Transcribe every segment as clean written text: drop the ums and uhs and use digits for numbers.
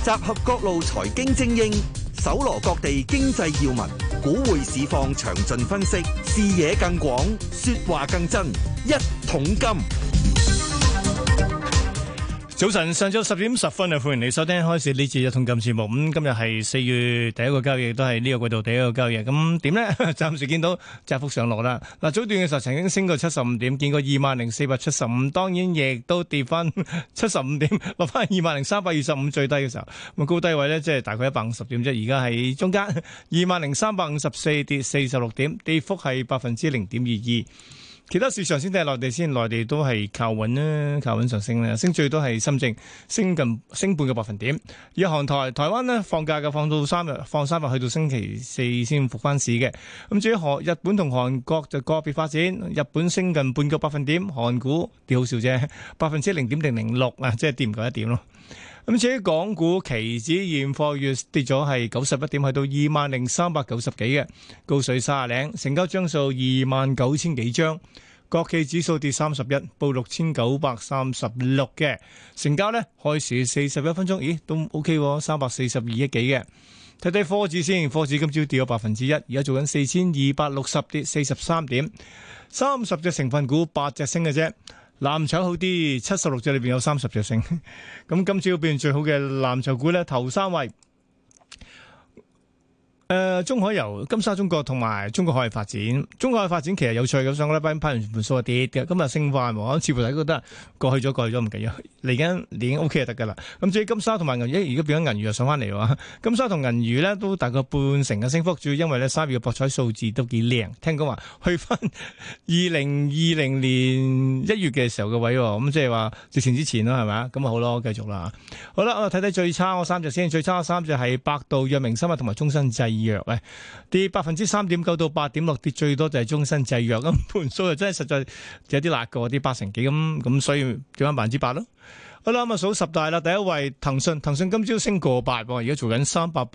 集合各路財經精英，搜羅各地經濟要聞，股匯市況詳盡分析，視野更廣，說話更真。一桶金。 早晨，上晝10點10分啊！歡迎你收聽開始呢次一桶金節目。今日係4月第一個交易，都係呢個季度第一個交易。咁點呢？暫時見到窄幅上落啦。嗱，早段嘅時候曾經升過75點，見過20,475，當然亦都跌翻75點，落翻20,325最低嘅時候。咁高低位呢，即係大概150點啫。而家喺中間20,354跌46點，跌幅係0.22%。其他市場先睇下內地先，內地都係靠穩啦，靠穩上升啦，升最多係深證，升半個百分點。而韓台灣呢，放假嘅，放3日去到星期四先復翻市嘅。咁至於日本同韓國就個別發展，日本升近半個百分點，韓股跌好少啫，0.006%啊，即係跌唔夠1點咯。咁至於港股期指現貨月跌咗係91點，去到20,390幾嘅，高水30零，成交張數29,000幾張。國企指數跌31，報6,936嘅，成交呢開市41分鐘，咦都 OK 喎，342億幾嘅。睇睇科指先，科指今朝跌咗1%，而家做緊4,260跌43點，30隻成分股8隻升嘅啫。藍籌好啲，76隻裏邊有30隻升。咁今朝表現最好嘅藍籌股呢，頭3位。中海油、金沙中國同埋中國海外發展。中國海外發展其實有趣嘅，上個禮拜批完盤數跌嘅，今日升翻，似乎大家覺得過去咗唔緊要，嚟緊已經 OK 就得噶啦。咁至於金沙同埋銀魚，而家變咗銀魚又上翻嚟喎。金沙同銀魚呢都大概半成嘅升幅，主要因為呢3月嘅博彩數字都幾靚，聽講話去翻2020年1月嘅時候嘅位，咁即係話疫情之前啦，係咪啊？咁啊好咯，繼續啦。好啦，我睇睇最差嗰3隻先，最差嗰3隻係百度、藥明生物同埋中生製藥咧，跌3.9%到8.6%，跌最多就係中生製藥，咁盤數又真係實在有啲辣過，啲80幾咁，所以跌翻8%咯。好啦，咁啊數十大啦，第一位騰訊今朝升過8，而家做緊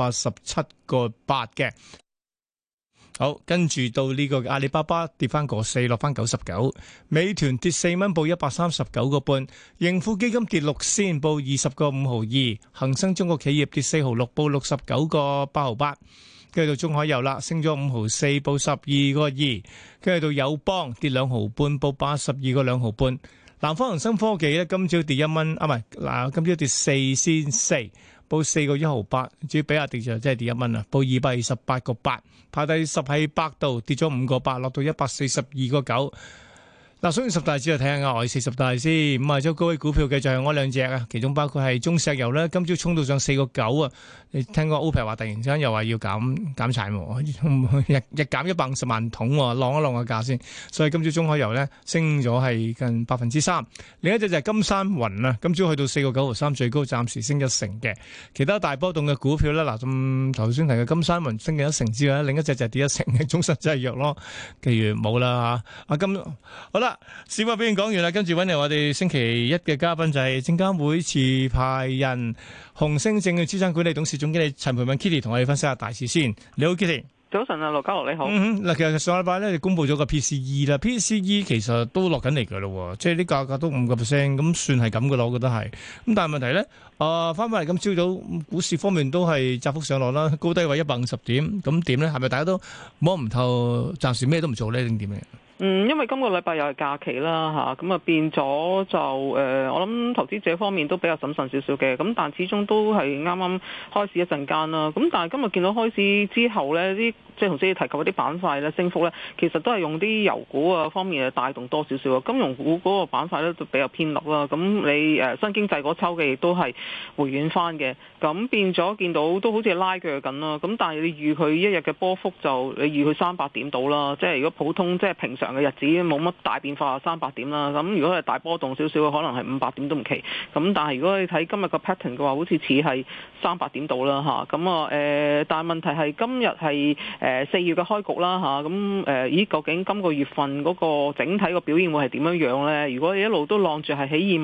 387.8嘅。好，跟住到呢個阿里巴巴跌翻個4，落翻99，美團跌4蚊，報139個半，盈富基金跌6仙，報20個5毫2，恒生中國企業跌4毫6，報69個8毫8。跟住到中海油啦，升咗5毫4，報12個2。跟住到友邦跌2毫半，報82個2毫半。南方恒生科技咧，今朝跌1蚊，今朝跌4仙4，報4個1毫8。至於比亞迪就真係跌1蚊啦，報228個8。排第10係百度，跌咗5個8，落到142個9。嗱，所以10大指就睇下額外40大先。5周高位股票嘅就係我2隻啊，其中包括係中石油咧，今朝衝到上4個9啊！你聽講 OPEC 話突然之間又話要減產喎，日減150萬桶喎，晾一晾個價先。所以今朝中海油咧升咗係近3%。另一隻就係金山雲啊，今朝去到4個9毫3，最高暫時升1成嘅。其他大波動嘅股票咧，嗱咁頭先提嘅金山雲升嘅1成之外，另一隻就係跌1成嘅中生製藥咯。其餘冇啦嚇。好啦。市況表現講完啦，跟住揾嚟我哋星期一嘅嘉賓就係證監會持牌人紅星證券資產管理董事總經理陳蓓敏 Kitty 同我哋分析下大市先。你好 Kitty。 早晨啊，羅家樂你好。 嗱，其實上禮拜咧，你公布咗個 PCE 啦，PCE 其實都落緊嚟噶咯，即係啲價格都5%，咁算係咁噶咯，我覺得係。咁但係問題咧，翻返嚟今朝早股市方面都係窄幅上落啦，高低位150點，咁點咧？係咪大家都摸唔透，暫時咩都唔做咧，定點嘅？ 因為今個禮拜又係假期啦嚇，咁啊變咗就我諗投資者方面都比較審慎少少嘅，咁但始終都係啱啱開市一陣間啦，咁但係今日見到開市之後呢，啲即係頭先你提及嗰啲板塊咧升幅咧，其實都係用啲油股啊方面嘅帶動多少少啊，金融股嗰個板塊咧都比較偏落啦，咁你新經濟嗰抽嘅亦都係回軟翻嘅，咁變咗見到都好似拉鋸緊啦，咁但係你預佢一日嘅波幅就你預佢300點到啦，即係如果普通即係平常嘅日子冇乜大變化300點啦，咁如果係大波動少少嘅，可能係500點都唔奇。咁但係如果你睇今日個 pattern 嘅話，好似似係300點到啦嚇。咁但係問題係今日係4月嘅開局啦嚇。咁究竟今個月份嗰個整體個表現會係點樣樣咧？如果你一路都晾住係喺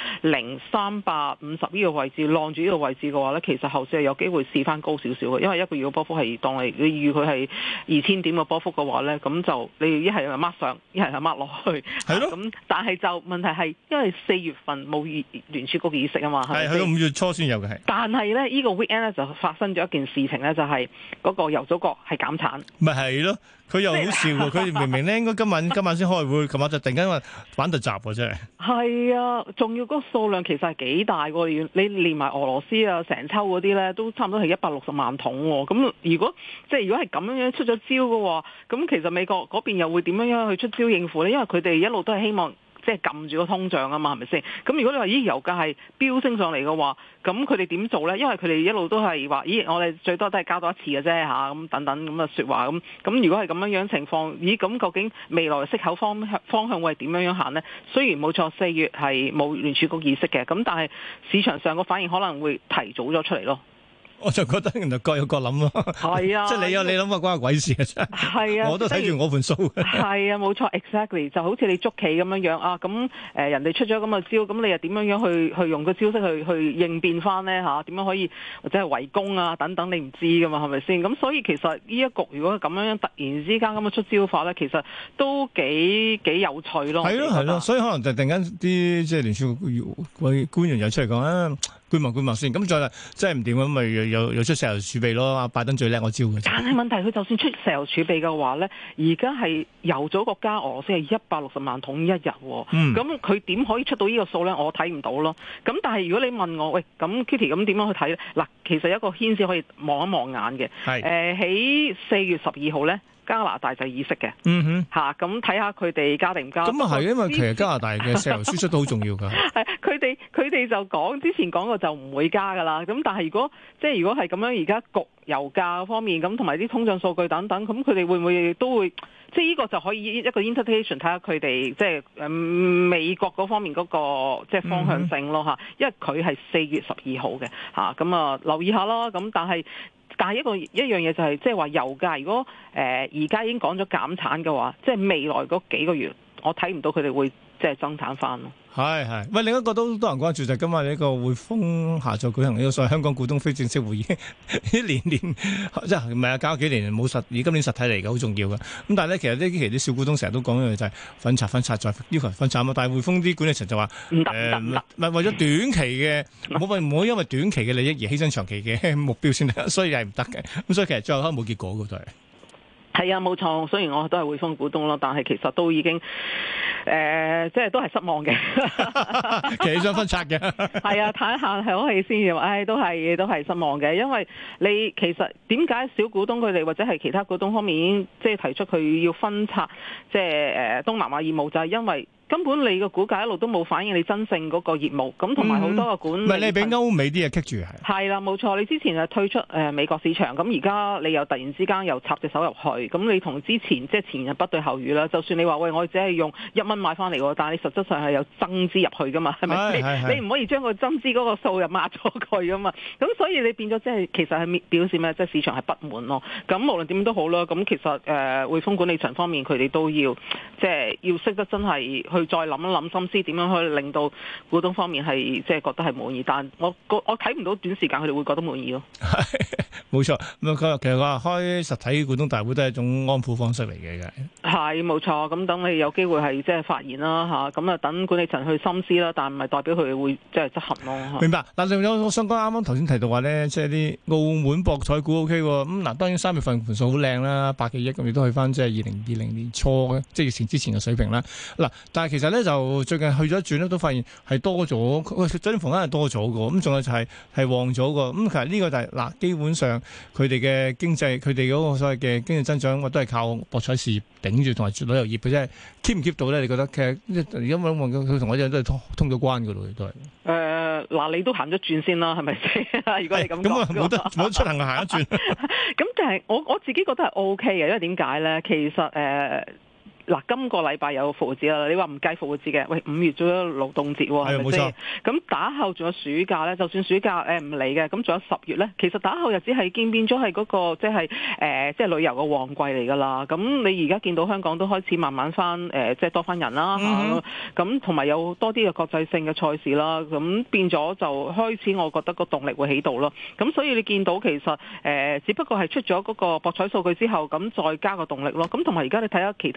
20,350呢個位置晾住呢個位置嘅話咧，其實後市係有機會試翻高少少嘅，因為一個月嘅波幅係當你預佢係2000點嘅波幅嘅話咧，咁就你一係抹上，一係抹落去。 係咯。 咁但係就問題係，因為4月份冇聯儲局議息啊嘛，係去到5月初先有嘅係。 但係咧，呢個 weekend 咧就發生咗一件事情咧，就係嗰個油組國係減產。 咪係咯。佢又好笑喎！佢明明咧應該今晚先開會，琴晚就突然間話玩突襲喎，真係。係啊，仲要嗰個數量其實係幾大喎？你連埋俄羅斯啊、成抽嗰啲咧，都差唔多係160萬桶喎。咁如果係咁樣出咗招嘅話，咁其實美國嗰邊又會點樣去出招應付咧？因為佢哋一路都係希望即係撳住個通脹啊嘛，係咪先？咁如果你話油價係飆升上嚟嘅話，咁佢哋點做咧？因為佢哋一路都係話，我哋最多都係加多一次嘅啫嚇，咁等等咁嘅説話咁。咁如果係咁樣情況，咁究竟未來息口方向會係點樣行呢？雖然冇錯4月係冇聯儲局議息嘅，咁但係市場上個反應可能會提早咗出嚟咯。 我就覺得原來各有各諗咯， 係啊， 即係你有你諗啊，關我鬼事啊！真係，我都睇住我盤數嘅。 係啊，冇錯 ，exactly 就好似你捉棋咁樣啊，咁人哋出咗咁嘅招，咁你又點樣去用個招式去應變翻呢？嚇？點樣可以或者係圍攻啊等等，你唔知噶嘛，係咪先？咁所以其實呢一局如果咁樣突然之間咁樣出招法咧，其實都幾有趣咯。係咯係咯， 所以可能就突然間啲即係聯儲官員又出嚟講啊。觀望先，咁再真係唔掂咁，咪又出石油儲備咯。阿拜登最叻我招嘅。 但係問題佢就算出石油儲備嘅話咧，而家係油組國家俄羅斯係160萬桶一日喎。咁佢點可以出到呢個數咧？我睇唔到咯。咁但係如果你問我，喂，咁 Kitty 咁點樣去睇咧？嗱，其實有一個牽絲可以望一望眼嘅。係。喺4月12號咧。加拿大就議息嘅，咁睇下佢哋加定唔加？ 咁啊係，因為其實加拿大嘅石油輸出都好重要㗎。 係佢哋就之前講過就唔會加㗎啦。咁但係如果係咁樣，而家焗油價方面咁，同埋啲通脹數據等等，咁佢哋會唔會都會？即係呢個就可以一個 interpretation 睇下佢哋即係美國嗰方面嗰個即係方向性咯嚇，因為佢係4月12號嘅嚇，咁啊留意下咯。咁但係一樣嘢就係即係話油價，如果而家已經講咗減產嘅話，即係未來嗰幾個月，我睇唔到佢哋會即係增產翻咯。係，喂，另一個都多人關注就係今日呢個匯豐下晝舉行呢個所謂香港股東非正式會議，年即係唔係啊？搞咗幾年冇而今年實體嚟嘅，好重要嘅。咁但係咧，其實呢期啲小股東成日都講嘅就係分拆再要求分拆啊嘛。但係匯豐啲管理層就話唔得，唔係為咗短期嘅，唔好因為短期嘅利益而犧牲長期嘅目標先得，所以係唔得嘅。咁所以其實最後可能冇結果嘅都係。係啊，冇錯。雖然我都係匯豐股東咯，但係其實都已經即係都係失望嘅。其實想分拆嘅。係啊，睇下係好氣先至，都係失望嘅。因為你其實點解小股東佢哋或者係其他股東方面已經即係提出佢要分拆即係東南亞業務，就係因為根本你個股價一路都冇反映你真正嗰個業務，咁同埋好多個管理。唔係你俾歐美啲嘢棘住係。係啦，冇錯。你之前係退出美國市場，咁而家你又突然之間又插隻手入去，咁你同之前即係前日不對後語啦。就算你話喂，我只係用1蚊買翻嚟喎，但係你實質上係有增資入去噶嘛，係咪？你唔可以將個增資嗰個數又抹咗佢噶嘛。咁所以你變咗即係其實係表示咩？即係市場係不滿咯。咁無論點都好啦，咁其實匯豐管理層方面佢哋都要即係要識得真係去再諗一諗心思，點樣可以令到股東方面係即係覺得係滿意，但我睇唔到短時間佢哋會覺得滿意咯。冇錯，咁其實話開實體股東大會都係一種安撫方式嚟嘅，係冇錯。咁等你有機會係即係發言啦嚇，咁啊等管理層去深思啦，但唔係代表佢哋會即係執行咯。明白。嗱，仲有我想講啱啱頭先提到話咧，即係啲澳門博彩股 OK 喎。咁嗱，當然3月份盤數好靚啦，100幾億咁，亦都去翻即係2020年初嘅即係疫情之前嘅水平啦。嗱，但係其實咧就最近去咗一轉咧，都發現係多咗，酒店房間係多咗嘅。咁仲有就係旺咗嘅。咁其實呢個就係嗱，基本上佢哋嘅經濟，佢哋嗰個所謂嘅經濟增長，我都係靠博彩事業頂住，同埋旅遊業嘅啫。keep 唔 keep 到咧？你覺得其實而家望佢同我哋都係通咗關嘅咯，都係。嗱，你都行咗轉先啦，係咪先？如果你咁講，咁啊冇得出行行一轉。咁但係我自己覺得係 OK 嘅，因為點解咧？其實嗱，今個禮拜有復活節啦，你話唔計復活節嘅，喂5月仲有勞動節喎，係咪先？咁打後仲有暑假咧，就算暑假唔嚟嘅，咁仲有10月咧，其實打後日子係變咗係嗰個即係旅遊嘅旺季嚟㗎啦。咁你而家見到香港都開始慢慢翻即係多翻人啦，咁同埋有多啲嘅國際性嘅賽事啦，咁變咗就開始我覺得個動力會起到咯。咁所以你見到其實只不過係出咗嗰個博彩數據之後，咁再加個動力咯。咁同埋而家你睇下其他嘅板塊。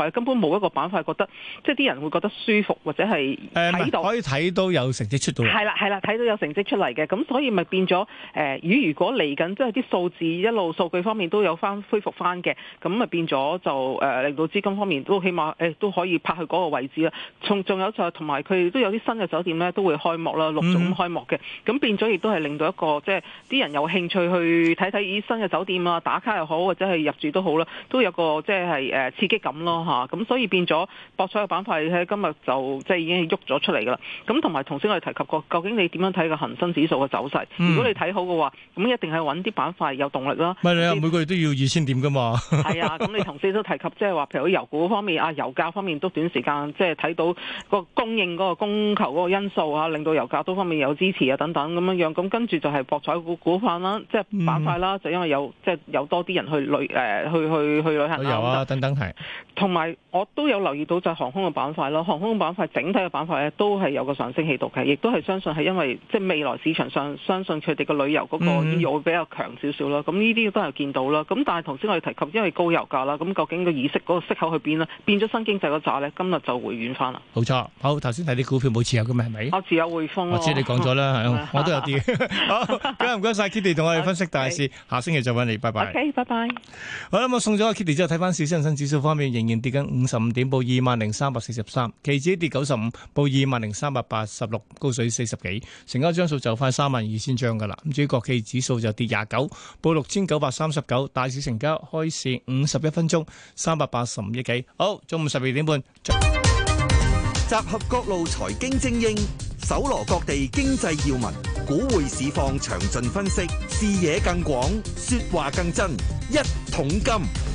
塊根本冇一個板塊覺得即係啲人會覺得舒服或者係睇到可以睇到有成績出到嚟。 係啦，睇到有成績出嚟嘅，咁所以咪變咗如果嚟緊即係啲數字一路數據方面都有翻恢復翻嘅，咁咪變咗就令到資金方面都起碼都可以拍去嗰個位置啦。仲有就係同埋佢哋都有啲新嘅酒店咧都會開幕啦，陸續咁開幕嘅，咁變咗亦都係令到一個即係啲人有興趣去睇睇新嘅酒店啊，打卡又好或者係入住都好啦，都有個即係刺激感咯嚇。咁所以變咗博彩嘅板塊喺今日就即係已經喐咗出嚟噶啦。咁同埋頭先我哋提及過，究竟你點樣睇個恒生指數嘅走勢？如果你睇好嘅話，咁一定係揾啲板塊有動力啦。 唔係你啊，每個月都要2000點噶嘛。 係啊，咁你頭先都提及即係話，譬如油股方面啊，油價方面都短時間即係睇到個供應嗰個供求嗰個因素啊，令到油價多方面有支持啊等等咁樣樣。咁跟住就係博彩股份啦，即係板塊啦，就因為有即係有多啲人去旅行旅遊啊等等係。 同埋我都有留意到就係航空嘅板塊咯，航空嘅板塊整體嘅板塊咧都係有個上升氣度嘅，亦都係相信係因為即係未來市場上相信佢哋個旅遊嗰個意欲會比較強少少啦。咁呢啲都係見到啦。咁但係頭先我哋提及因為高油價啦，咁究竟個議息嗰個息口去邊啦？變咗新經濟嗰扎咧，今日就回軟翻啦。 冇錯，好頭先睇啲股票冇持有嘅係咪？ 我持有匯豐。 我知你講咗啦，係我都有啲。好，唔該晒 Kitty 同我哋分析大市，下星期再揾你，拜拜。 OK，拜拜。 好啦，我送咗 Kitty 之後，睇翻市，恒生指數方面仍然跌緊55點，報20,343，期指跌95，報20,386，高水40幾，成交張數就快32,000張噶啦。咁至於國企指數就跌29，報6,939，大市成交開市51分鐘385億幾。好，中午12點半。 集合各路財經精英，搜羅各地經濟要聞，股匯市況詳盡分析，視野更廣，說話更真。一桶金，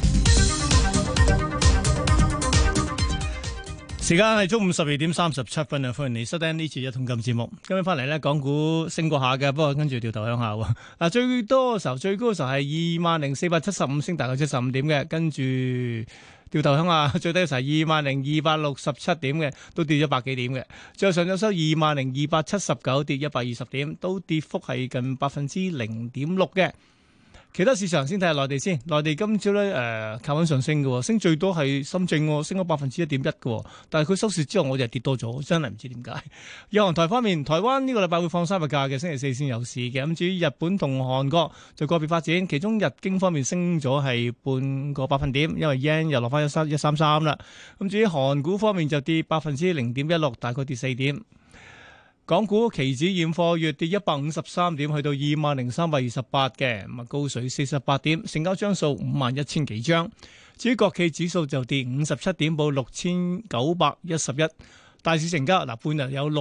時間係中午12點37分啊！歡迎你收聽呢次一桶金節目。今日翻嚟咧，港股升過下嘅，不過跟住掉頭向下喎。嗱，最高嘅時候係20,475，升大概75點嘅，跟住掉頭向下，最低嘅時候20,267點嘅，都跌咗百幾點嘅。最後上晝收20,279，跌120點，都跌幅係近0.6%嘅。其他市場先睇下內地先，內地今朝咧靠穩上升嘅，升最多係深圳，升咗1.1%嘅，但係佢收市之後我就跌多咗，真係唔知點解。日韓台方面，台灣呢個禮拜會放3日假嘅，星期四先有市嘅。咁至於日本同韓國就個別發展，其中日經方面升咗係半個百分點，因為 yen 又落翻133啦。咁至於韓股方面就跌0.16%，大概跌4點。港股期指現貨月跌153點，去到20,328嘅，咁啊高水48點，成交張數51,000幾張。至於國企指數就跌57點，報6,911。大市成交嗱半日有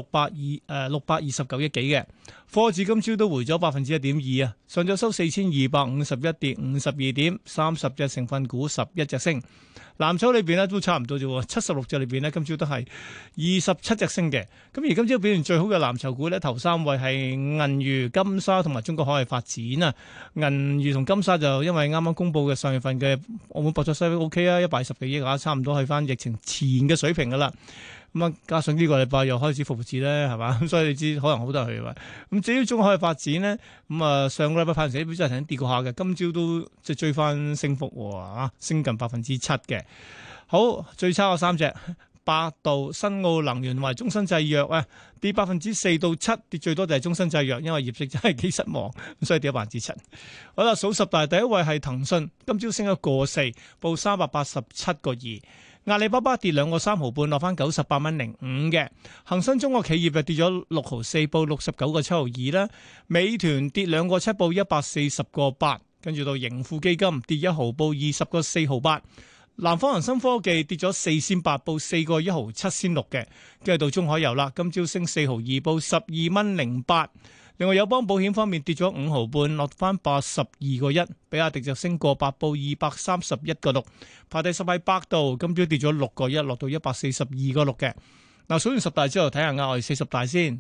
629億幾嘅。科指今朝都回咗1.2%啊，上晝收4,251，跌52點，30隻成分股11隻升。藍籌裏邊咧都差唔多啫，76隻裏邊咧今朝都係27隻升嘅。咁而今朝表現最好嘅藍籌股咧，頭3位係銀娛、金沙同埋中國海外發展啊。銀娛同金沙就因為啱啱公布嘅上月份嘅澳門博彩收益 OK 啊，120幾億啊，差唔多去翻疫情前嘅水平噶啦。咁啊，加上呢個禮拜又開始復活節咧，係嘛？咁所以你知可能好多人去嘅。咁至於中國海外發展咧，咁啊上個禮拜派成績表真係曾經跌過下嘅，今朝都即係追翻升幅喎，升近7%嘅。好，最差嘅3隻，百度、新奧能源同埋中生製藥啊，跌4%到7%，跌最多就係中生製藥，因為業績真係幾失望，所以跌咗7%。好啦，數10大第一位係騰訊，今朝升咗1.4%，報387.2。阿里巴巴跌2個3毫半，落翻98.05嘅。恒生中國企業就跌咗6毫4，報69.72啦。美團跌2個7，報140.8。跟住到盈富基金跌1毫，報20.4毫8。南方恒生科技跌咗4仙8，報4.1毫7仙6嘅。跟住到中海油啦，今朝升4毫2，報12.08。另外友邦保險方面跌咗5毫半，落翻82.1，比亞迪就升過8，報231.6。排第10係百度，今朝跌咗6.1，落到142.6嘅。嗱，數完10大之後，睇下額外40大先。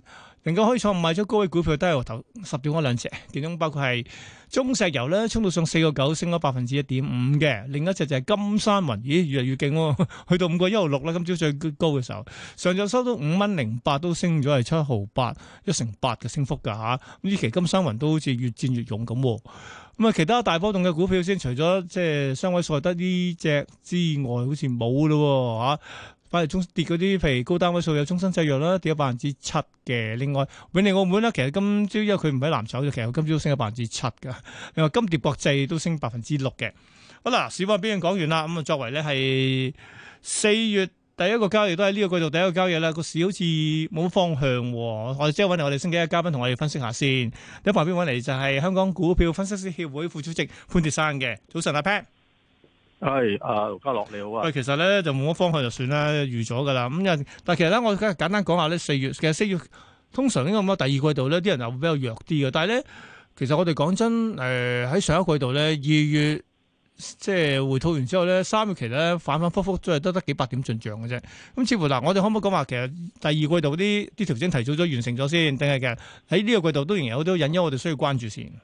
能夠可以創買咗高位股票都係頭10點嗰兩隻，其中包括係中石油咧，衝到上4.9，升咗1.5%嘅。另一隻就係金山雲，咦，越嚟越勁喎，去到5.16啦。今朝最高嘅時候，上晝收到5.08蚊，都升咗係7毫8，一成8嘅升幅㗎嚇。咁呢期金山雲都好似越戰越勇咁。咁啊，其他大波動嘅股票先，除咗即係雙位數得呢隻之外，好似冇咯嚇。反而中跌嗰啲，譬如高單位數有中生製藥啦，跌咗7%嘅。另外永利澳門咧，其實今朝因為佢唔喺藍籌，其實今朝升咗7%㗎。另外金蝶國際都升6%嘅。好啦，市況表現講完啦。咁啊，作為咧係4月第一個交易都喺呢個季度第一個交易啦，個市好似冇方向。我哋即係揾嚟我哋星期一嘉賓同我哋分析下先。喺旁邊揾嚟就係香港股票分析師協會副主席潘鐵珊嘅。早晨阿 Pat。 係盧家樂你好啊。 喂，其實咧就冇乜方向就算啦，預咗噶啦。咁但係其實咧，我簡單講下咧，4月通常應該咁啊，第二季度咧啲人又會比較弱啲嘅。但係咧，其實我哋講真，喺上一季度咧2月即係回吐完之後咧，3月期咧反反覆覆都係得幾百點進賬嘅啫。咁似乎嗱，我哋可唔可以講話其實第二季度啲調整提早咗完成咗先，定係其實喺呢個季度都仍然有好多隱憂，我哋需要關注先。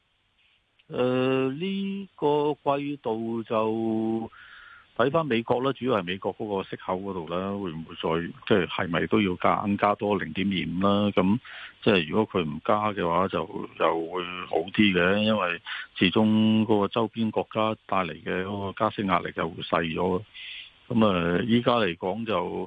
呢個季度就睇翻美國啦，主要係美國嗰個息口嗰度啦，會唔會再即係咪都要加多0.25啦？咁即係如果佢唔加嘅話，就又會好啲嘅，因為始終嗰個周邊國家帶嚟嘅嗰個加息壓力就會細咗。咁依家嚟講就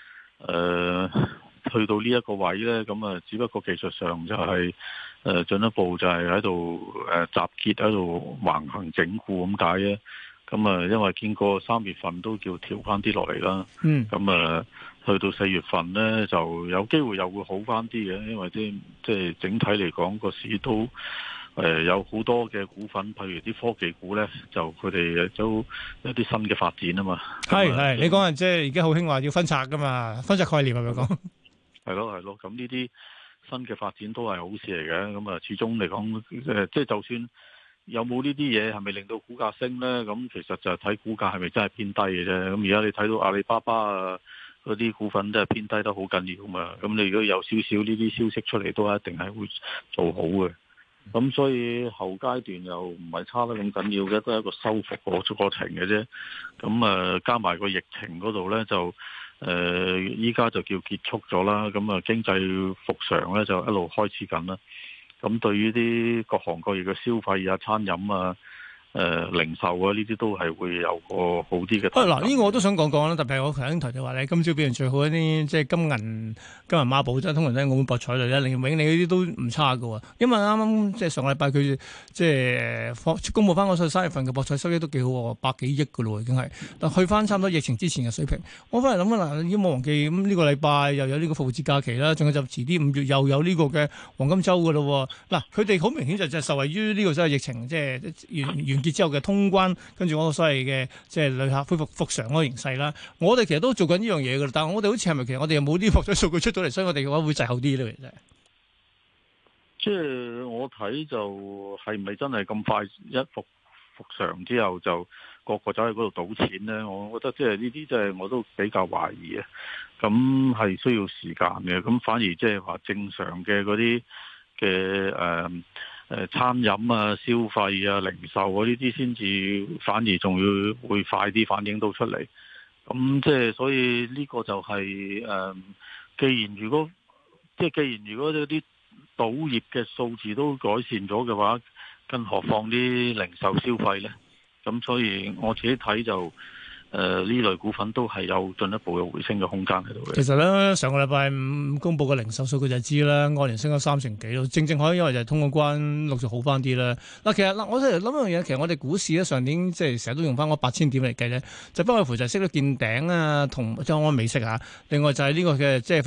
去到呢一個位呢，咁只不過技術上就係進一步就係喺度集結喺度橫行整固咁解啫。咁因為經過3月份都叫調翻啲落嚟啦。咁去到4月份呢，就有機會又會好翻啲嘅，因為即係整體嚟講個市都有好多嘅股份，譬如啲科技股呢，就佢哋都有啲新嘅發展啊嘛。 係你講係即係而家好興話要分拆噶嘛，分拆概念係咪講？ 係咯，咁呢啲新嘅發展都係好事嚟嘅。咁始終嚟講，即係就算有冇呢啲嘢，係咪令到股價升呢？咁其實就係睇股價係咪真係偏低嘅啫。咁而家你睇到阿里巴巴啊嗰啲股份都係偏低得好緊要嘛。咁你如果有少少呢啲消息出嚟，都一定係會做好嘅。咁所以後階段又唔係差得咁緊要嘅，都係一個修復過程嘅啫。咁加埋個疫情嗰度呢，就依家就叫結束咗啦。咁經濟復常呢，就一路開始緊啦。咁對於啲各行各業嘅消費啊、餐飲啊、零售啊呢啲都係會有個好啲嘅。 嗱，呢個我都想講講啦。特別係我頭先提到話咧，今朝表現最好一啲，即係金銀孖寶，即係通常都係澳門博彩類啦，永利嗰啲都唔差㗎喎。因為啱啱即係上個禮拜佢即係公佈翻嗰個3月份嘅博彩收益都幾好喎，100幾億㗎咯，已經係，但去翻差唔多疫情之前嘅水平。我翻嚟諗啦，嗱，已經冇忘記咁呢個禮拜又有呢個復活節假期啦，仲有就遲啲5月又有呢個嘅黃金週㗎咯。嗱，佢哋好明顯就受惠於呢個所謂疫情即係完結之後嘅通關，跟住嗰個所謂嘅即係旅客恢復常嗰個形勢啦。我哋其實都做緊呢樣嘢噶啦，但係我哋好似係咪其實我哋又冇啲博彩數據出咗嚟，所以我哋嘅話會滯後啲咧，其實。 即係我睇就係咪真係咁快一復常之後就個個走去嗰度賭錢咧？我覺得即係呢啲即係我都比較懷疑啊。咁係需要時間嘅，咁反而即係話正常嘅嗰啲嘅餐飲啊、消費啊、零售啊呢啲先至反而仲要會快啲反映到出嚟。咁即係所以呢個就係既然如果嗰啲賭業嘅數字都改善咗嘅話，更何況啲零售消費呢？咁所以我自己睇就呢類股份都係有進一步嘅回升嘅空間喺度嘅。 其實咧，上個禮拜5公佈嘅零售數據就知啦，按年升咗3成幾咯。正可以因為就係通過關陸續好翻啲啦。嗱，其實嗱，我哋諗一樣嘢，其實我哋股市咧上年即係成日都用翻嗰8000點嚟計咧，就不外乎就係息率見頂啊，同即係安美息嚇。另外就係呢個嘅即係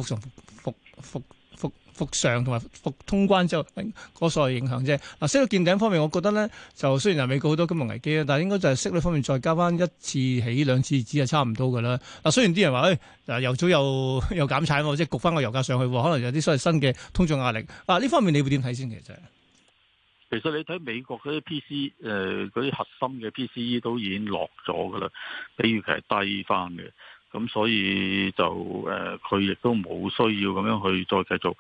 復常同埋復通關之後嗰所謂影響啫。嗱，息率見頂方面，我覺得咧就雖然係美國好多金融危機啦，但係應該就係息率方面再加翻1次起2次止係差唔多㗎啦。嗱，雖然啲人話嗱油組又減產喎，即係焗翻個油價上去，可能有啲所謂新嘅通脹壓力。嗱，呢方面你會點睇先？ 其實你睇美國嗰啲 PC 嗰啲核心嘅 PCE 都已經落咗㗎啦，比預期係低翻嘅。咁所以就佢亦都冇需要咁樣去再繼續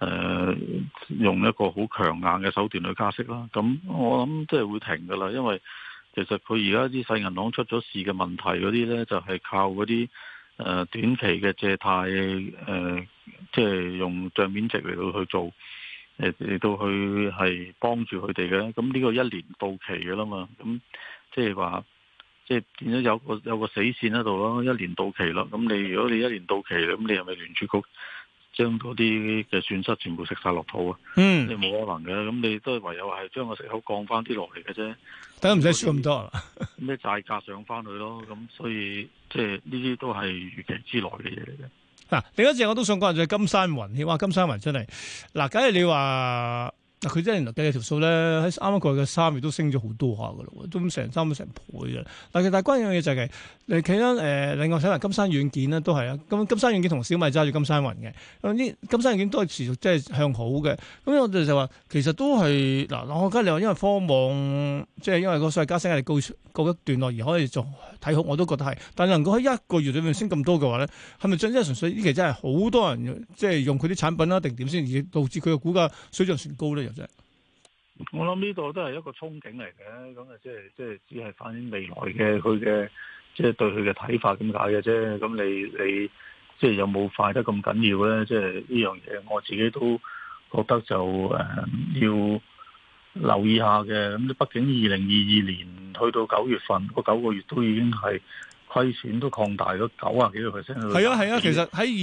用一個好強硬嘅手段去加息啦。咁我諗即係會停㗎啦，因為其實佢而家啲細銀行出咗事嘅問題嗰啲呢，就係靠嗰啲短期嘅借貸即係用帳面值嚟到去做，嚟到去係幫助佢哋嘅。咁呢個1年到期㗎啦嘛，咁即係話即係變咗有個死線喺度咯，1年到期啦。咁如果你1年到期啦，咁你係咪聯儲局將嗰啲嘅損失全部食晒落肚啊？你冇可能嘅，咁你都係唯有係將個息口降翻啲落嚟嘅啫。 等唔使輸咁多咩債價上翻去咯？咁所以即係呢啲都係預期之內嘅嘢嚟嘅。 嗱，另一隻我都想講就係金山雲，哇！金山雲真係嗱，假如你話嗱，佢真係計嘅條數咧，喺啱啱過去嘅3月都升咗好多下噶啦，都成倍嘅。但係關鍵嘅嘢就係你睇翻另外睇埋金山軟件咧，都係啊。咁金山軟件同小米揸住金山雲嘅，呢金山軟件都係持續即係向好嘅。咁我哋就話其實都係嗱，我覺得你話因為科網即係因為個所謂加息壓力告一段落而可以做睇好，我都覺得係。但係能夠喺1個月裏面升咁多嘅話咧，係咪真係純粹呢期真係好多人即係用佢啲產品啦，定點先而導致佢嘅股價水漲船高咧？又真係。 我諗呢度都係一個憧憬嚟嘅，咁啊即係只係反映未來嘅佢嘅即係對佢嘅睇法咁解嘅啫。咁你即係有冇快得咁緊要咧？即係呢樣嘢，我自己都覺得就要留意下嘅。咁畢竟2022年去到9月份嗰9個月都已經係虧損都擴大咗90幾個%。係啊，其實喺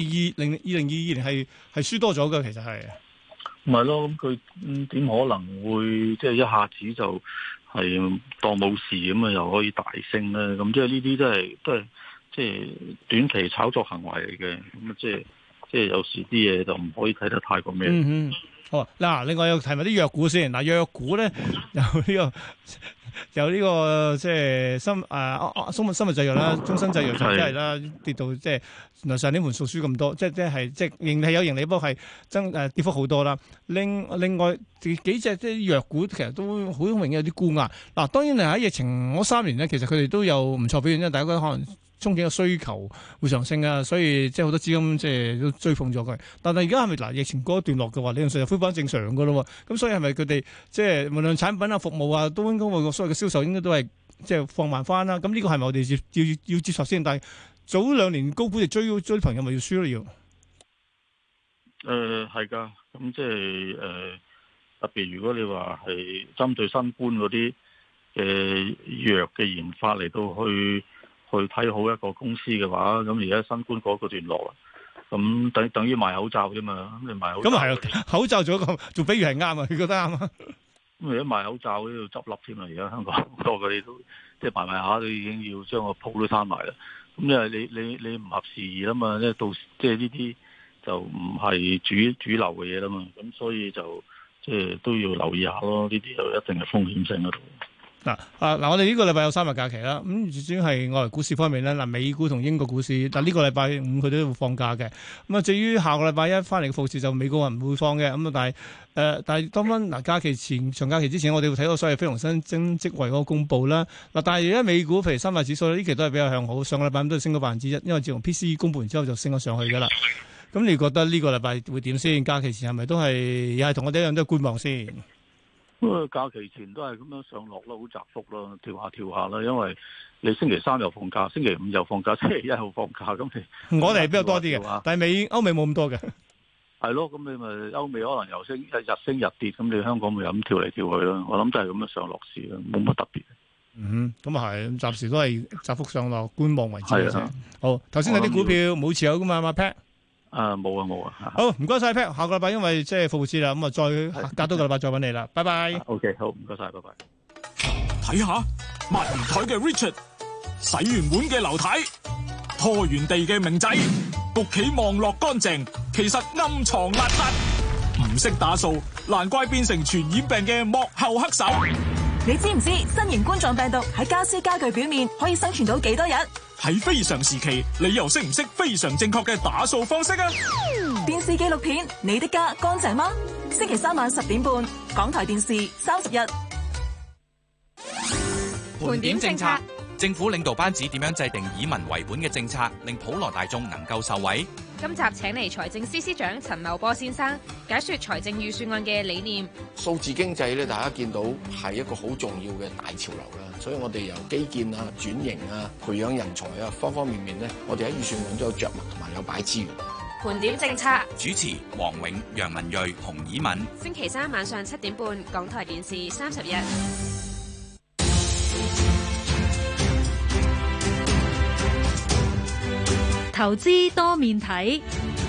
2022年係輸多咗嘅，其實係。 唔係咯，咁佢點可能會即係一下子就係當冇事咁啊？又可以大升咧？咁即係呢啲都係即係短期炒作行為嚟嘅。咁即係有時啲嘢就唔可以睇得太過咩。 好嗱，另外又提埋啲藥股先。嗱，藥股咧有呢個即係生物製藥啦，中生製藥就真係啦，跌到即係原來上年盤數輸咁多，即係盈利有盈利，不過係跌幅好多啦。另外幾隻即係藥股其實都好明顯有啲沽壓。嗱，當然係喺疫情嗰3年咧，其實佢哋都有唔錯表現，因為大家覺得可能憧憬嘅需求會上升啊，所以即係好多資金即係都追捧咗佢。但係而家係咪嗱疫情過一段落嘅話，理論上就恢復翻正常嘅咯？咁所以係咪佢哋即係無論產品啊、服務啊，都應該會所謂嘅銷售應該都係即係放慢翻啦？咁呢個係咪我哋要接受先？但係早2年高估值追朋友咪要輸咯要？ 係㗎，咁即係特別如果你話係針對新冠嗰啲嘅藥嘅研發嚟到去睇好一個公司嘅話，咁而家新冠嗰個段落啦，咁等於賣口罩啫嘛。咁你賣口罩，咁係口罩做比喻係啱啊，你覺得啱啊？ 咁而家賣口罩都要執笠添啦，而家香港好多嘅你都即係賣下都已經要將個鋪都閂埋啦。咁因為你唔合時宜啦嘛，即係到即係呢啲就唔係主流嘅嘢啦嘛，咁所以就即係都要留意下咯。呢啲就一定係風險性喺度。 嗱，我哋呢個禮拜有3日假期啦。咁主要係外圍股市方面咧，嗱，美股同英國股市，但呢個禮拜5佢都會放假嘅。咁啊，至於下個禮拜1翻嚟嘅復市，就美國人唔會放嘅。咁啊，但係當翻假期前長假期之前，我哋會睇到所謂非農新增職位嗰個公佈啦。嗱，但係而家美股譬如3大指數呢期都係比較向好，上個禮拜都係升咗1%，因為自從 PCE 公佈完之後就升咗上去噶啦。咁你覺得呢個禮拜會點先？假期前係咪都係又係同我哋一樣都係觀望先？ 假期前都係咁樣上落啦，好窄幅啦，跳下啦。因為你星期3又放假，星期5又放假，星期1又放假，咁我哋係比較多啲嘅，但係歐美冇咁多嘅。係咯，咁你咪歐美可能又升日升日跌，咁你香港咪又咁跳嚟跳去啦。我諗都係咁樣上落市啦，冇乜特別。 咁啊係，暫時都係窄幅上落，觀望為主嘅啫。好，頭先有啲股票冇持有噶嘛，阿 Pat。 冇啊。 好，唔該晒 Pat，下個禮拜因為即係復活節啦，咁啊再隔多個禮拜再揾你啦，拜拜。 OK， 好，唔該晒，拜拜。 睇下抹完台嘅 Richard， 洗完碗嘅劉太，拖完地嘅明仔，屋企望落乾淨，其實暗藏邋遢。唔識打掃，難怪變成傳染病嘅幕後黑手。 你知唔知新型冠狀病毒喺家私家具表面可以生存到幾多日？ 喺非常時期，你又識唔識非常正確嘅打掃方式啊？ 電視紀錄片《你的家乾淨嗎》？星期3晚10點半，港台電視30日。 盤點政策， 政府領導班子點樣制定以民為本嘅政策，令普羅大眾能夠受惠？ 今集請嚟財政司司長陳茂波先生解說財政預算案嘅理念。 數字經濟咧，大家見到係一個好重要嘅大潮流啦，所以我哋由基建啊、轉型啊、培養人才啊，方方面面咧，我哋喺預算案都有着墨同埋有擺資源。 盤點政策， 主持黃永、楊文睿、洪以敏。 星期三晚上7點半，港台電視30日。 投資多面睇，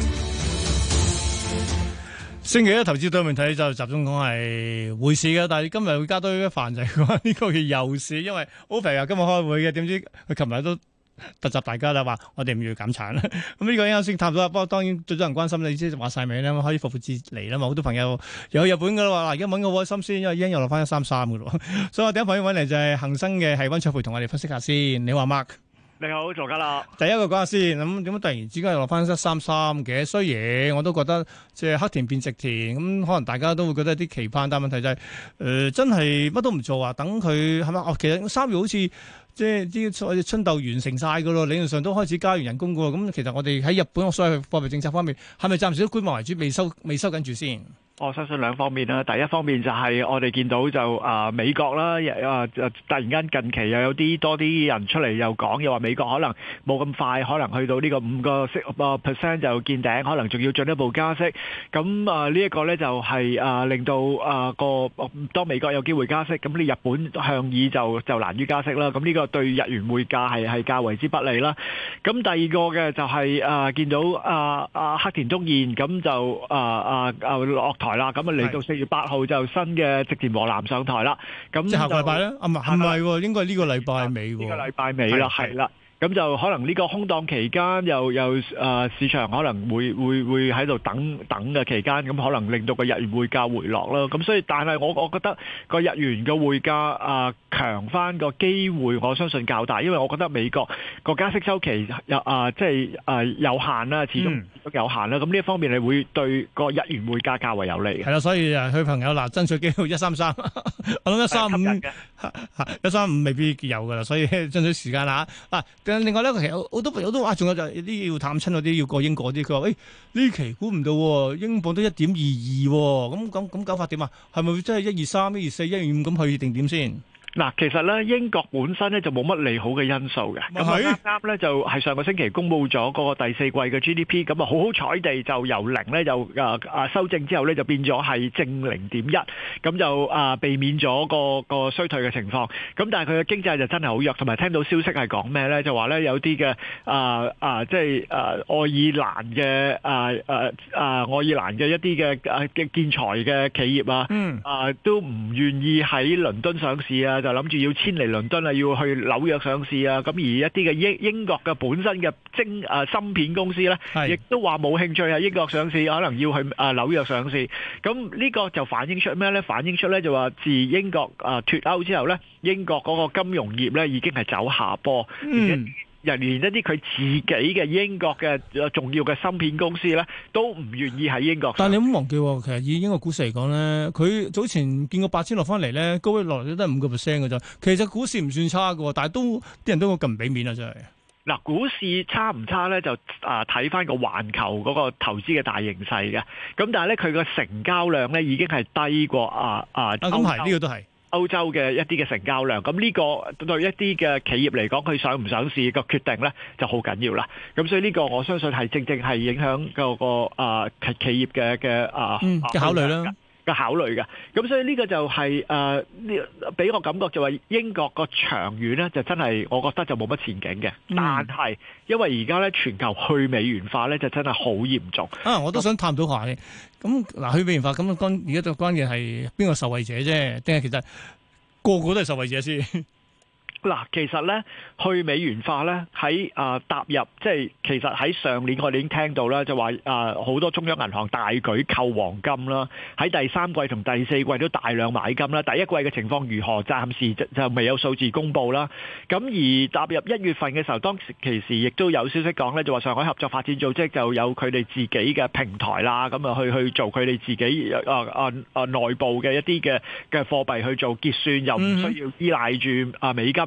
星期一投資多面睇就集中講係匯市嘅，但係今日會加多一範就係講呢個嘅油市，因為 OPEC 又今日開會嘅，點知佢琴日都突襲大家啦，話我哋唔要減產啦。咁呢個啱先探到啦，不過當然最多人關心你知話晒尾啦，可以復活節嚟啦嘛，好多朋友有日本噶啦話，嗱而家揾個開心先，因為 yen 又落翻133噶咯，所以我第一朋友揾嚟就係恒生嘅係溫灼培同我哋分析下先。你話 Mark？ 你好，羅家樂。第一個講下先，咁點解突然之間又落翻133嘅？雖然我都覺得即係黑田變直田，咁可能大家都會覺得有啲期盼，但問題就係真係乜都唔做啊，等佢係咪？其實3月好似即係啲春鬥完成晒㗎咯，理論上都開始加完人工㗎喎。咁其實我哋喺日本所謂貨幣政策方面，係咪暫時都觀望為主，未收緊住先？ 我相信兩方面啦，第一方面就係我哋見到就美國啦，突然間近期又有多啲人出嚟又講，又話美國可能冇咁快，可能去到呢個5% 就見頂，可能仲要進一步加息。咁呢一個咧就係令到當美國有機會加息，咁你日本向議就難於加息啦。咁呢個對日元匯價係較為之不利啦。咁第二個嘅就係見到黑田東彥咁就落台啦，咁嚟到4月8號就新嘅植田和男上台啦。咁即係下個禮拜咧？唔係喎，應該係呢個禮拜尾喎。 呢個禮拜尾啦，係啦。咁就可能呢個空檔期間又市場可能會喺度等嘅期間，咁可能令到個日元匯價回落啦。咁所以，但係我覺得個日元嘅匯價強翻個機會，我相信較大，因為我覺得美國個加息週期有限啦，始終都有限啦。咁呢一方面係會對個日元匯價較為有利嘅。 係啦，所以佢朋友爭取機會133，我諗135未必有㗎啦，所以爭取時間啦嚇。另外咧，其實好多朋友都話，仲有就係啲要探親嗰啲，要過英國啲。佢話：呢期估唔到英鎊都1.22喎，咁搞法點啊？係咪真係123、124、125咁去定點先？ 嗱，其實咧英國本身咧就冇乜利好嘅因素嘅，咁啱啱咧就係上個星期公佈咗嗰個第4季嘅 GDP，咁啊好彩地就由0咧就修正之後咧就變咗係正0.1，咁就避免咗個衰退嘅情況。咁但係佢嘅經濟就真係好弱，同埋聽到消息係講咩咧？就話咧有啲嘅即係愛爾蘭嘅一啲嘅建材嘅企業啊，都唔願意喺倫敦上市啊。就諗住要遷嚟倫敦啊，要去紐約上市啊。咁而一啲嘅英國嘅本身嘅芯片公司咧，亦都話冇興趣喺英國上市，可能要去紐約上市。咁呢個就反映出咩咧？反映出咧就話自英國脫歐之後咧，英國嗰個金融業咧已經係走下坡。連一啲佢自己嘅英國嘅重要嘅芯片公司咧，都唔願意喺英國上。 但係你唔好忘記，其實以英國股市嚟講咧，佢早前見過8000落翻嚟咧，高位落嚟都係5% 嘅啫。其實股市唔算差嘅，但係啲人都咁唔俾面啊，真係。 嗱，股市差唔差咧？就睇翻個環球嗰個投資嘅大形勢嘅。咁但係咧，佢個成交量咧已經係低過咁係呢個都係。歐洲嘅一啲嘅成交量，咁呢個對一啲嘅企業嚟講，佢上唔上市個決定咧就好緊要啦。咁所以呢個我相信係正係影響個企業嘅考慮啦。考慮嘅，咁所以呢個就係俾我感覺就話英國個長遠咧就真係我覺得就冇乜前景嘅。但係因為而家咧全球去美元化咧就真係好嚴重啊！我都想探討下嘅。咁嗱，去美元化咁而家就關鍵係邊個受惠者啫？定係其實個個都係受惠者先？ 嗱，其實咧去美元化咧喺踏入即係其實喺上年我哋已經聽到啦，就話好多中央銀行大舉購黃金啦，喺第3季同第4季都大量買金啦。第一季嘅情況如何？暫時就未有數字公佈啦。咁而踏入1月份嘅時候，當其時亦都有消息講咧，就話上海合作發展組織就有佢哋自己嘅平台啦，咁啊去做佢哋自己內部嘅一啲嘅貨幣去做結算，又唔需要依賴住美金。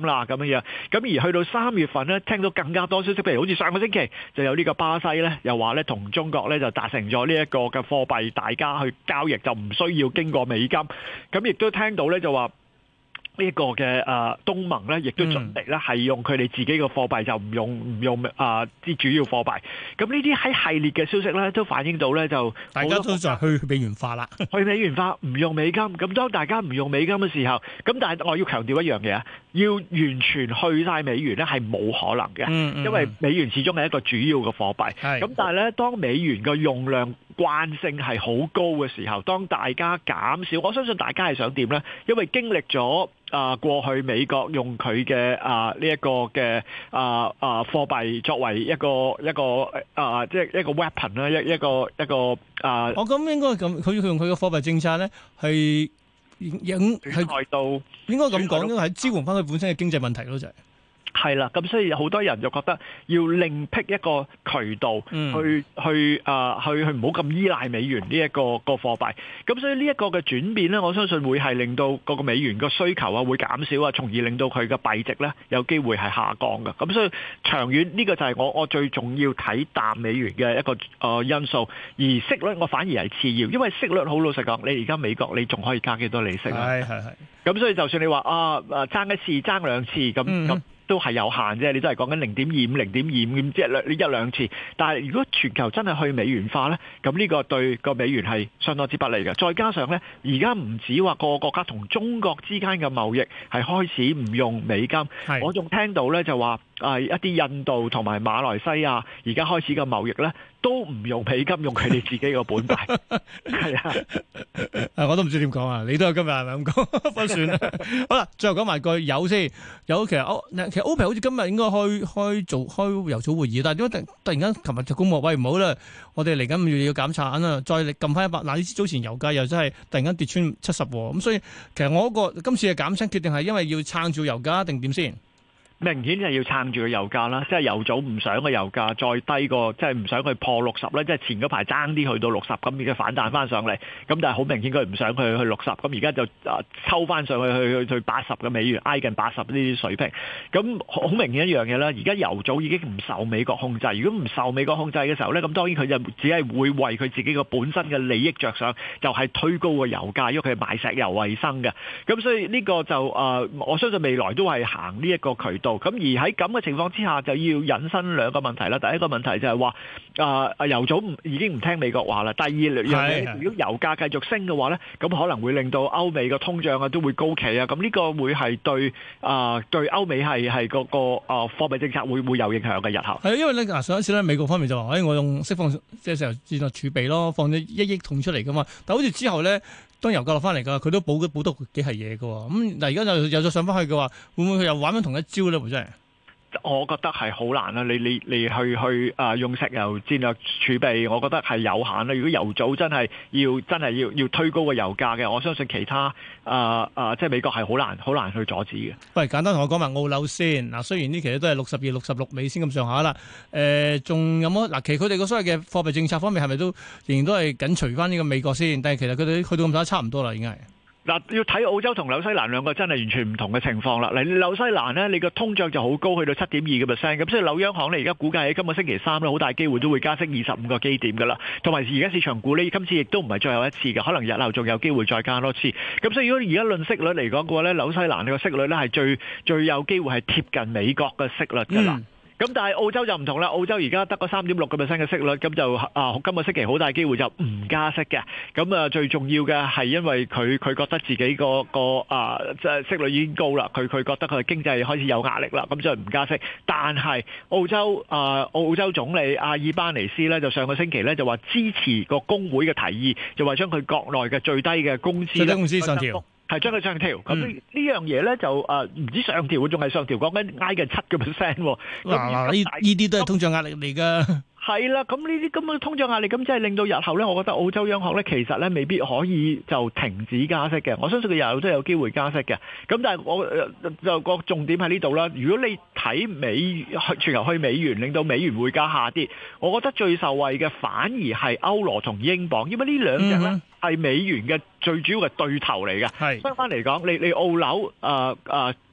啦咁樣。咁而去到3月份呢，聽到更加多消息，譬如好似上個星期就有呢個巴西呢，又話呢同中國呢就達成咗呢一個嘅貨幣，大家去交易就唔需要經過美金。咁亦都聽到呢就話，呢一個嘅東盟咧，亦都準備咧係用佢哋自己嘅貨幣，就唔用啲主要貨幣。咁呢啲喺系列嘅消息咧，都反映到咧就大家都就去美元化啦， 去美元化，唔用美金。咁當大家唔用美金嘅時候，咁但係我要強調一樣嘢啊，要完全去晒美元咧係冇可能嘅，因為美元始終係一個主要嘅貨幣。咁但係咧，當美元嘅用量慣性係好高嘅時候，當大家減少，我相信大家係想點咧？因為經歷咗過去美國用佢嘅呢一個嘅貨幣作為一個即係一個 weapon 啦，一個我咁應該咁，佢用佢嘅貨幣政策咧係係到應該咁講，因為係支援翻佢本身嘅經濟問題咯，就係。 係啦，咁所以好多人就覺得要另闢一個渠道去唔好咁依賴美元呢一個貨幣。咁所以呢一個嘅轉變咧，我相信會係令到個美元個需求會減少啊，從而令到佢嘅幣值咧有機會係下降嘅。咁所以長遠呢個就係我最重要睇淡美元嘅一個因素。而息率我反而係次要，因為息率好老實講，你而家美國你仲可以加幾多利息啊？係。咁所以就算你話爭一次爭兩次咁。都係有限啫，你都係講緊0.25、0.25即係一兩次。但係如果全球真係去美元化呢，咁呢個對個美元係相當之不利嘅。再加上呢，而家唔止話個國家同中國之間嘅貿易係開始唔用美金，我仲聽到呢就話一啲印度同埋馬來西亞而家開始嘅貿易呢，都唔用美金，用佢哋自己個本幣。係啊， 我都唔知點講啊！你都係今日係咪咁講？不算啦。好啦，最後講埋句油先。油其實OPEC 好似今日應該開油組會議，但係點解突然間琴日就公佈，喂，唔好啦，我哋嚟緊要減產啦，再撳翻100。嗱，呢次早前油價又真係突然間跌穿70喎，咁所以其實我今次嘅減產決定係因為要撐住油價定點先？ 明顯係要撐住個油價啦，即係油組唔想個油價再低過，即係唔想佢破60咧，即係前嗰排爭啲去到60，咁而家反彈翻上嚟，咁但係好明顯佢唔想佢去60，咁而家就抽翻上去80嘅美元，挨近80呢啲水平，咁好明顯一樣嘢啦。而家油組已經唔受美國控制，如果唔受美國控制嘅時候咧，咁當然佢就只係會為佢自己個本身嘅利益着想，就係推高個油價，因為佢係賣石油為生嘅，咁所以呢個就我相信未來都係行呢一個渠道。咁而喺咁嘅情況之下，就要引申兩個問題啦。第一個問題就係話，油組已經唔聽美國話啦。第二樣嘢，如果油價繼續升嘅話咧，咁可能會令到歐美嘅通脹都會高企啊。咁呢個會係對歐美係個貨幣政策會有影響嘅日後。係因為咧上一次咧美國方面就話，我用釋放即係石油戰略儲備咯，放咗1億桶出嚟噶嘛。但好似之後咧，當油價落翻嚟㗎，佢都補到幾係嘢㗎喎。咁嗱，而家又再上翻去嘅話，會唔會佢又玩翻同一招咧？真係， 我覺得係好難啦。你去用石油戰略儲備，我覺得係有限啦。如果油組真係要推高個油價嘅，我相信其他即係美國係好難去阻止嘅。 喂，簡單同我講埋澳紐先嗱，雖然呢期都係62、66美先咁上下啦。仲有冇嗱？其實佢哋個所謂嘅貨幣政策方面係咪都仍然都係緊隨翻呢個美國先？但係其實佢哋去到咁上下差唔多啦，已經係。 嗱，要睇澳洲同紐西蘭兩個真係完全唔同嘅情況啦。嗱，紐西蘭呢，你個通脹就好高，去到7.2%，咁所以紐央行呢而家估計喺今個星期3呢，好大機會都會加息25個基點噶啦。同埋而家市場估呢，今次亦都唔係最後一次嘅，可能日後仲有機會再加多次。咁所以如果而家論息率嚟講嘅話呢，紐西蘭個息率呢係最有機會係貼近美國嘅息率噶啦。咁但係澳洲就唔同啦，澳洲而家得個3.6%嘅息率，咁就今個星期好大機會就唔加息嘅。咁最重要嘅係因為佢覺得自己即係息率已經高啦，佢覺得佢經濟開始有壓力啦，咁就唔加息。但係澳洲總理阿爾巴尼斯咧，就上個星期咧就話支持個工會嘅提議，就話將佢國內嘅最低嘅工資上調。 係將佢上調，咁呢樣嘢咧就唔止上調，仲係上調，講緊挨近7%。 嗱，呢啲都係通脹壓力嚟㗎。 係啦，咁呢啲咁嘅通脹壓力，咁即係令到日後咧，我覺得澳洲央行咧其實咧未必可以就停止加息嘅。我相信佢日後都有機會加息嘅。咁但係我就個重點喺呢度啦。如果你睇全球去美元，令到美元匯價下跌，我覺得最受惠嘅反而係歐羅同英鎊，因為呢兩隻咧係美元嘅最主要嘅對頭嚟嘅。相反嚟講，你澳紐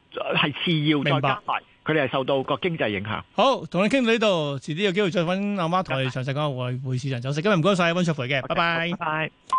係次要，再加埋佢哋係受到個經濟影響。 好，同你傾到呢度，遲啲有機會再揾阿媽同我哋詳細講下匯市場走勢。今日唔該晒溫灼培嘅，拜拜。 拜拜。